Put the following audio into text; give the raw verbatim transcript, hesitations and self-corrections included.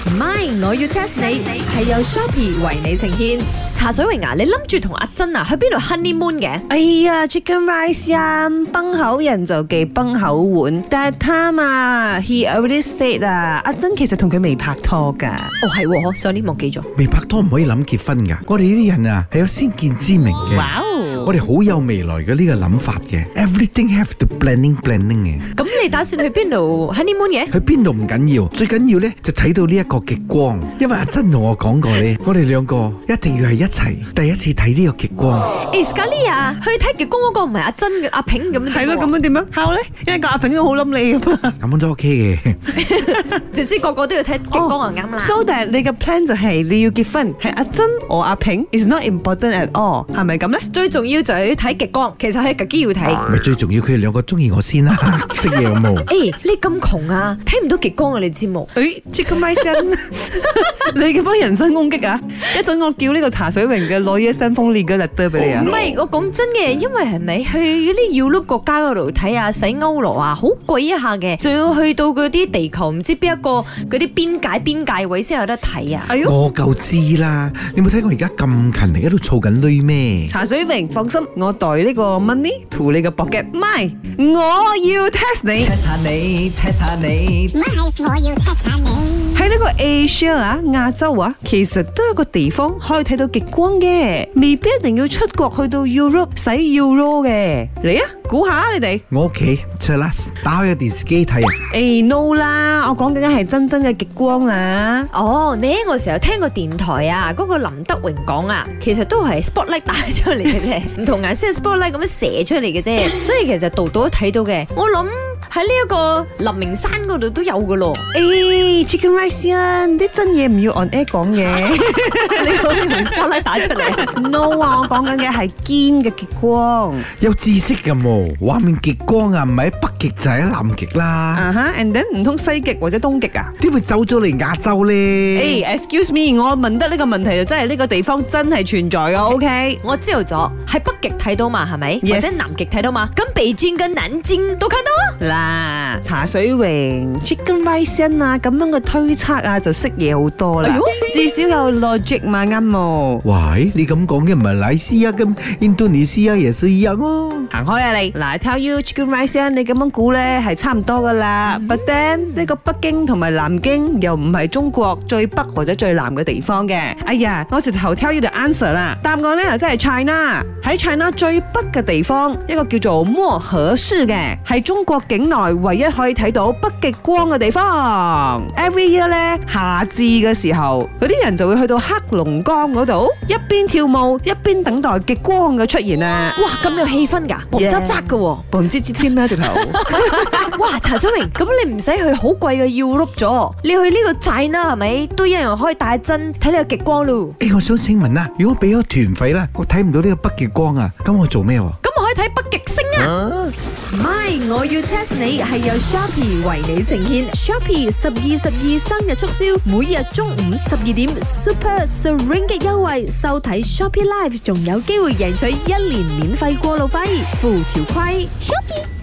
唔係，我要 test 你係由 Shopee 為你呈現。茶水榮啊，你諗住同阿珍啊去邊度 honeymoon 嘅？ 哎呀 ，Chicken Rice 啊，崩口人就忌崩口碗。但係他啊 ，he already said 啊，阿珍其實同佢未拍拖㗎。 哦係喎，上年忘記咗。 未拍拖唔可以諗結婚㗎。我哋呢啲人啊係有先見之明嘅。 哇哦！ 我哋好有未來嘅呢個諗法嘅 ，everything have to planning planning 嘅。 咁你打算去邊度 honeymoon 嘅？ 去邊度唔緊要，最緊要咧就睇到呢一個極光。因為阿珍同我講過咧，我哋兩個一定要係一齊第一次睇呢個極光。 誒 Scarlett 啊，去睇極光嗰個唔係阿珍嘅阿平咁樣。 係咯，咁樣點樣敲咧？因為個阿平都好冧你㗎嘛。 咁樣都 OK 嘅。 總之個個都要睇極光就啱啦。 So that 你嘅 plan 就係你要結婚，係阿珍或阿平 is not important at all， 係咪咁咧？ 最重要就係要睇極光，其實係極機要睇。 咪最重要佢哋兩個中意我先啦，識嘢有冇？ 誒，你咁窮啊，睇唔到極光啊！你知冇？ 誒 Chicken Rice， 你嘅幫人身攻擊啊！一陣我叫呢個茶水榮嘅攞一聲風烈嘅 letter 俾你啊！ 唔係，我講真嘅，因為係咪去嗰啲要碌國家嗰度睇啊，洗歐羅啊，好貴一下嘅，仲要去到嗰啲地球唔知邊一個嗰啲邊界邊界位先有得睇啊！ 哎呦， 我夠知啦，你冇睇我而家咁勤力喺度儲緊鐳咩？ 茶水榮，放心，我袋呢個 money to 你個 pocket， 唔係，我要 test 你 test 下你 test 下你， 唔係，我要 test 下你。 喺呢個 Asia 啊，亞洲啊，其實都有個地方可以睇到極光嘅，未必一定要出國去到 Europe 使 Euro 嘅。嚟啊，估下你哋。 我屋企 Chelas 打開個電視機睇啊！ 誒 no 啦，我講緊係真真嘅極光啊！ 哦，你我成日聽過電台啊，嗰、嗰個林德榮講啊，其實都係 spotlight 打出嚟嘅啫，唔同顏色 spotlight 咁樣射出嚟嘅啫，所以其實度度都睇到嘅。我諗喺呢一個林明山嗰度都有噶咯。 誒 Chicken Rice 啊，啲真嘢唔要 on air 講嘅。 你講啲同 spotlight 打出嚟 ？No 啊，我講緊嘅係堅嘅極光。 有知識㗎喎，畫面極光啊，唔係喺北極就係喺南極啦。 啊哈 and then 唔通西極或者東極啊？ 點會走咗嚟亞洲咧？ 誒 excuse me，我問得呢個問題就真係呢個地方真係存在嘅 ，OK？ 我知道咗，喺北極睇到嘛，係咪？ Yes 或者南極睇到嘛？咁北京跟南京都睇到嗱，茶水榮 Chicken Rice 啊，咁樣嘅推測啊，就識嘢好多啦。 哎呦至少有 logic 嘛，啱冇？ 喂，你咁講嘅馬來西亞咁，印度尼西亞也是一樣哦。 行開啊你！嗱，I tell you Chicken Rice， 你咁樣估咧係差唔多噶啦。But then 呢個北京同埋南京又唔係中國最北或者最南嘅地方嘅。哎呀，我直頭 tell you the answer 啦。答案咧就真係 China。喺 China 最北嘅地方，一個叫做漠河市嘅，係中國境內唯一可以睇到北極光嘅地方。Every year 咧夏至嘅時候，嗰啲人就會去到黑龍江嗰度，一邊跳舞一邊等待極光嘅出現啊！ 哇，咁有氣氛㗎，嘣喳喳㗎喎。 嘣吱吱添啦，直頭。 哇，茶水榮，咁你唔使去好貴嘅要碌咗，你去呢個 China 係咪都一樣可以帶針睇呢個極光咯？ 誒，我想請問啦，如果俾咗團費啦，我睇唔到呢個北極光啊，咁我做咩喎？ 咁我可以睇北極星啊！唔係，我要 test 你係由 Shopee 為你呈現 Shopee 十二十二生日促銷，每日中午十二點 Super Seringgit 優惠，收睇 Shopee Live 仲有機會贏取一年免費過路費，附條規。Shopee